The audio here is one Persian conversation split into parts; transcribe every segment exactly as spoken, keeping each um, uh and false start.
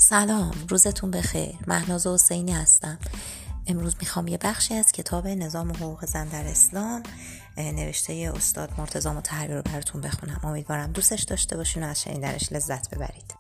سلام، روزتون بخیر. مهناز حسینی هستم. امروز میخوام یه بخشی از کتاب نظام حقوق زن در اسلام نوشته استاد مرتضی مطهری رو براتون بخونم. امیدوارم دوستش داشته باشین و از شنیدنش لذت ببرید.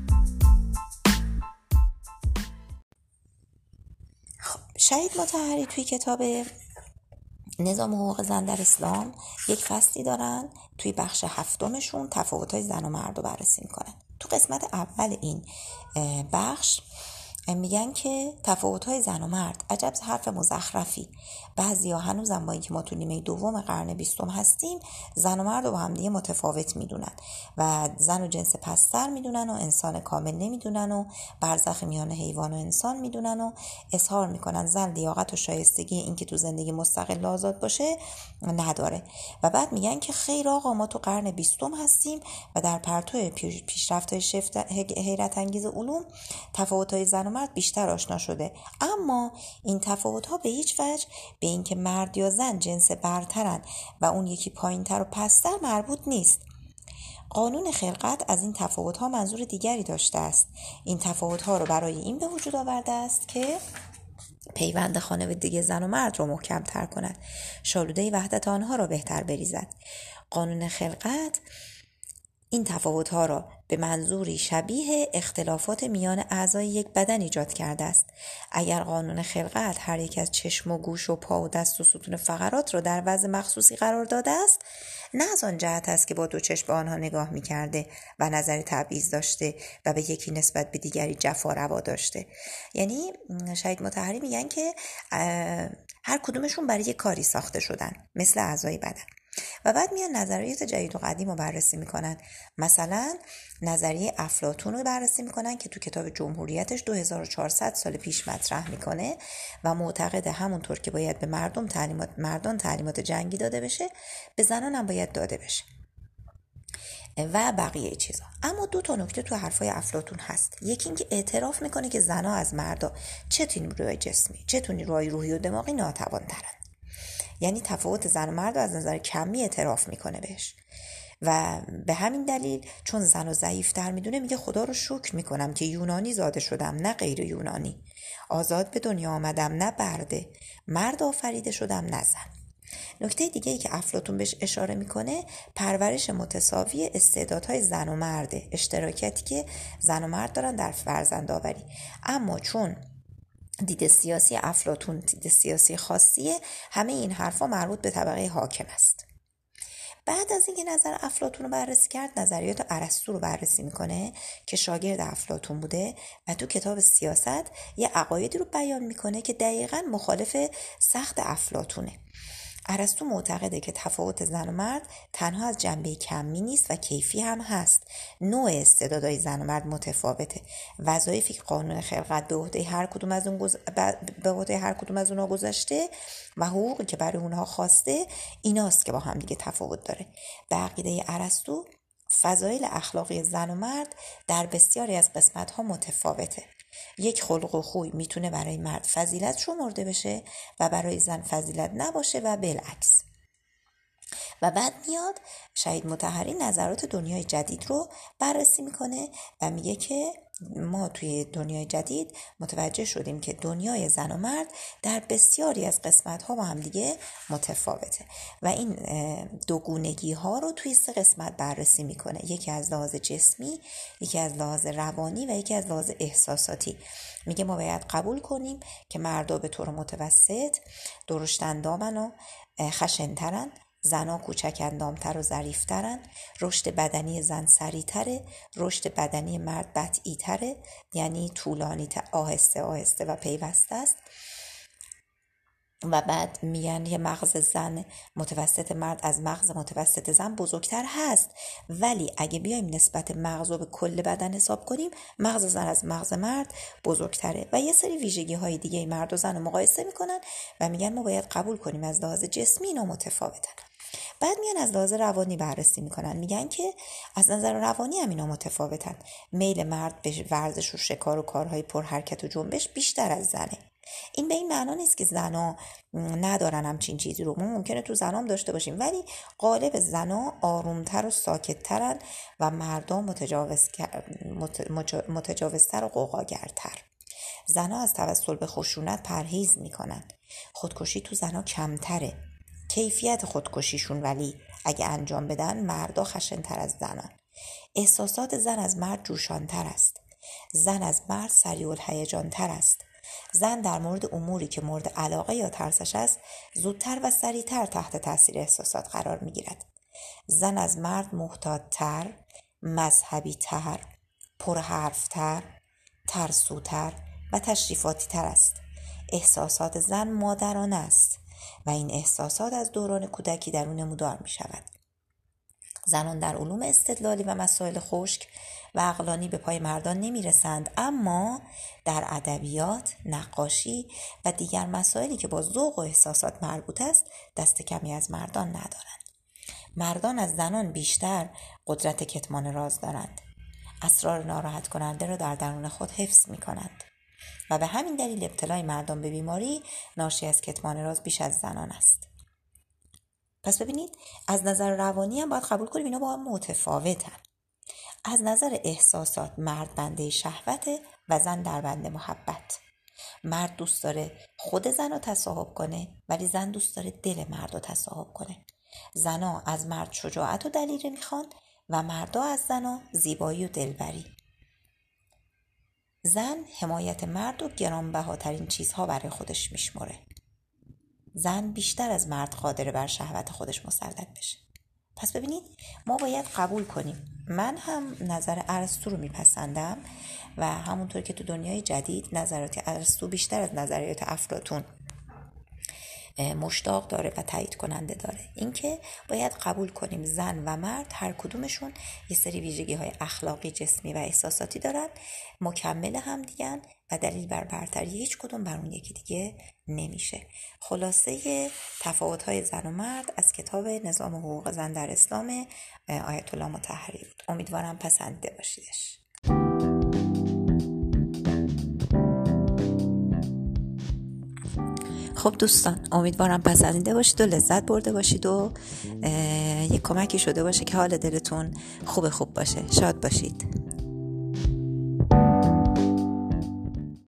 خب، شهید مطهری توی کتاب نظام حقوق زن در اسلام یک فصلی دارن. توی بخش هفتمشون تفاوت‌های زن و مرد رو بررسی میکنن. تو قسمت اول این بخش میگن که تفاوت‌های زن و مرد عجب حرف مزخرفی. بعضیا هنوزم با اینکه ما تو نیمه دوم قرن بیستم هستیم زن و مرد رو با هم دیگه متفاوت میدونن و زن و جنس پستر میدونن و انسان کامل نمیدونن و برزخ میان حیوان و انسان میدونن و اظهار میکنن زن لیاقت و شایستگی اینکه تو زندگی مستقل آزاد باشه نداره. و بعد میگن که خیر آقا، ما تو قرن بیستم هستیم و در پرتو پیشرفت‌های شفت حیرت انگیز علوم تفاوت‌های زن و مرد بیشتر آشنا شده، اما این تفاوت‌ها به هیچ وجه به اینکه مرد یا زن جنس برترن و اون یکی پایین‌تر و پستر مربوط نیست. قانون خلقت از این تفاوت‌ها منظور دیگری داشته است. این تفاوت‌ها رو برای این به وجود آورده است که پیوند خانوادگی زن و مرد رو محکم تر کند، شالوده وحدت آنها را بهتر بریزد. قانون خلقت این تفاوت‌ها را به منظوری شبیه اختلافات میان اعضای یک بدن ایجاد کرده است. اگر قانون خلقت هر یک از چشم و گوش و پا و دست و ستون فقرات را در وضع مخصوصی قرار داده است، نه از آن جهت است که با دو چشم به آنها نگاه می‌کرده و نظر تبعیض داشته و به یکی نسبت به دیگری جفا روا داشته. یعنی شهید مطهری میگن که هر کدومشون برای یک کاری ساخته شدن، مثل اعضای بدن. و بعد میان نظریات جدید و قدیم رو بررسی میکنن. مثلا نظریه افلاطون رو بررسی میکنن که تو کتاب جمهوریتش دو هزار و چهارصد سال پیش مطرح میکنه و معتقده همونطور که باید به مردم تعلیمات مردان تعلیمات جنگی داده بشه، به زنان هم باید داده بشه و بقیه چیزا. اما دو تا نکته تو حرفای افلاطون هست. یکی اینکه اعتراف میکنه که زنها از مردا چه تو نیروی جسمی چه تو نیروی روحی و دماغی ناتوان‌ترن. یعنی تفاوت زن و مرد رو از نظر کمی اعتراف میکنه بهش و به همین دلیل چون زن رو ضعیف‌تر میدونه میگه خدا رو شکر میکنم که یونانی زاده شدم نه غیر یونانی، آزاد به دنیا آمدم نه برده، مرد آفریده شدم نه زن. نکته دیگه ای که افلاطون بهش اشاره میکنه پرورش متساوی استعدادهای زن و مرده، اشتراکاتی که زن و مرد دارن در فرزندآوری. اما چون دید سیاسی افلاطون دید سیاسی خاصیه، همه این حرفا مربوط به طبقه حاکم است. بعد از اینکه نظر افلاطون رو بررسی کرد، نظریات ارسطو رو بررسی میکنه که شاگرد افلاطون بوده و تو کتاب سیاست یه عقایدی رو بیان میکنه که دقیقاً مخالف سخت افلاطونه. ارسطو معتقده که تفاوت زن و مرد تنها از جنبه کمی نیست و کیفی هم هست. نوع استعدادهای زن و مرد متفاوته. وظایفی که قانون خلقت به عهده هر کدوم از اون گز... به عهده هر کدوم از اونها گذاشته و حقوقی که برای اونها خواسته ایناست که با هم دیگه تفاوت داره. به عقیده ارسطو فضایل اخلاقی زن و مرد در بسیاری از قسمت‌ها متفاوته. یک خلق و خوی میتونه برای مرد فضیلت شمرده بشه و برای زن فضیلت نباشه و بالعکس. و بعد میاد شهید مطهری نظرات دنیای جدید رو بررسی میکنه و میگه که ما توی دنیای جدید متوجه شدیم که دنیای زن و مرد در بسیاری از قسمت‌ها با هم دیگه متفاوته و این دوگونگی ها رو توی سه قسمت بررسی میکنه. یکی از لحاظ جسمی، یکی از لحاظ روانی و یکی از لحاظ احساساتی. میگه ما باید قبول کنیم که مردا به طور متوسط درشت اندامن و خشن‌ترن، زنها کوچک اندامتر و ظریفترن، رشد بدنی زن سریعتره، رشد بدنی مرد بطئی‌تره، یعنی طولانی آهسته آهسته و پیوسته است. و بعد میگن یه مغز زن متوسط مرد از مغز متوسط زن بزرگتر هست، ولی اگه بیایم نسبت مغز رو به کل بدن حساب کنیم مغز زن از مغز مرد بزرگتره و یه سری ویژگی های دیگه مرد و زن رو مقایسه میکنن و میگن ما باید قبول کنیم از لحاظ جسمی اینا متفاوتن. بعد میان از لحاظ روانی بررسی میکنن. میگن که از نظر روانی هم اینا متفاوتن. میل مرد به ورزش و شکار و کارهای پر حرکت و جنبش بیشتر از زنه. این به این معنا نیست که زنا ندارن همچین چیزی رو، ما ممکنه تو زنام داشته باشیم، ولی غالب زنا آرومتر و ساکتترن و مردم متجاوز متجاوزتر و غوغاگرتر. زنا از توسل به خشونت پرهیز میکنن. خودکشی تو زنا کمتره. کیفیت خودکشیشون ولی اگه انجام بدن مردا خشن‌تر از زنان. احساسات زن از مرد جوشانتر است. زن از مرد سریع الهیجان تر است. زن در مورد اموری که مورد علاقه یا ترسش است زودتر و سریعتر تحت تاثیر احساسات قرار میگیرد. زن از مرد محتاط‌تر، مذهبی‌تر، پرحرف‌تر، ترسوتر و تشریفاتی تر است. احساسات زن مادرانه است و این احساسات از دوران کودکی در او نمودار می شود. زنان در علوم استدلالی و مسائل خشک و عقلانی به پای مردان نمی رسند، اما در ادبیات، نقاشی و دیگر مسائلی که با ذوق و احساسات مربوط است دست کمی از مردان ندارند. مردان از زنان بیشتر قدرت کتمان راز دارند. اسرار ناراحت کننده را در درون خود حفظ می کنند و به همین دلیل ابتلای مردان به بیماری ناشی از کتمان راز بیش از زنان است. پس ببینید از نظر روانی هم باید قبول کنیم اینا با هم متفاوتن. از نظر احساسات مرد بنده شهوته و زن در بنده محبت. مرد دوست داره خود زن رو تصاحب کنه ولی زن دوست داره دل مرد رو تصاحب کنه. زنا از مرد شجاعت و دلیره میخوان و مردا از زنا زیبایی و دلبری. زن حمایت مرد و گرانبهاترین چیزها برای خودش میشمره. زن بیشتر از مرد قادره بر شهوت خودش مسلط بشه. پس ببینید ما باید قبول کنیم من هم نظر ارسطو رو میپسندم و همونطور که تو دنیای جدید نظرات ارسطو بیشتر از نظریات افلاطون مشتاق داره و تایید کننده داره. اینکه باید قبول کنیم زن و مرد هر کدومشون یه سری ویژگی های اخلاقی، جسمی و احساساتی دارن، مکمل هم دیگن و دلیل بر برتری هیچ کدوم بر اون یکی دیگه نمیشه. خلاصه تفاوت های زن و مرد از کتاب نظام حقوق زن در اسلام آیت الله مطهری بود. امیدوارم پسندیده باشیدش. خب دوستان امیدوارم پسندیده باشید و لذت برده باشید و یک کمکی شده باشه که حال دلتون خوب خوب باشه. شاد باشید.